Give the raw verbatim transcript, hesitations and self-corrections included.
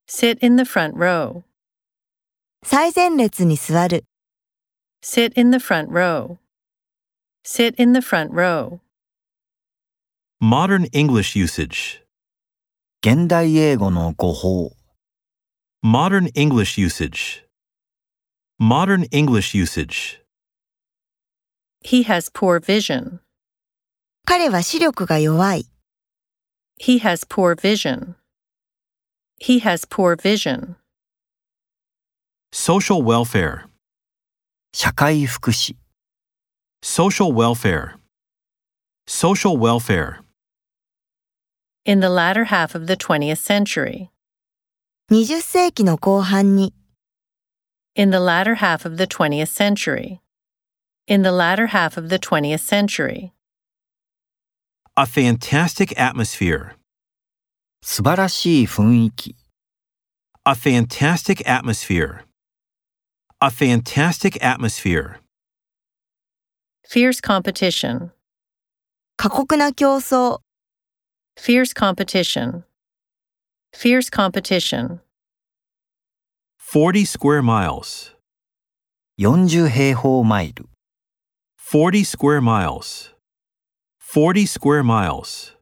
Sit in the front row. 最前列に座る。 Sit in the front row. Sit in the front row. Modern English usage. 現代英語の語法。 Modern English usage. Modern English usage. He has poor vision. 彼は視力が弱い。 He has poor vision. He has poor vision. Social welfare. 社会福祉。 Social welfare. Social welfare. In the latter half of the twentieth century. にじゅっ世紀の後半に。 In the latter half of the twentieth century. In the latter half of the twentieth century. A fantastic atmosphere. 素晴らしい雰囲気。 A fantastic atmosphere. A fantastic atmosphere. Fierce competition. 過酷な競争。 Fierce competition. Fierce competition. Forty square miles. よんじゅう平方マイル。 Forty square miles. Forty square miles.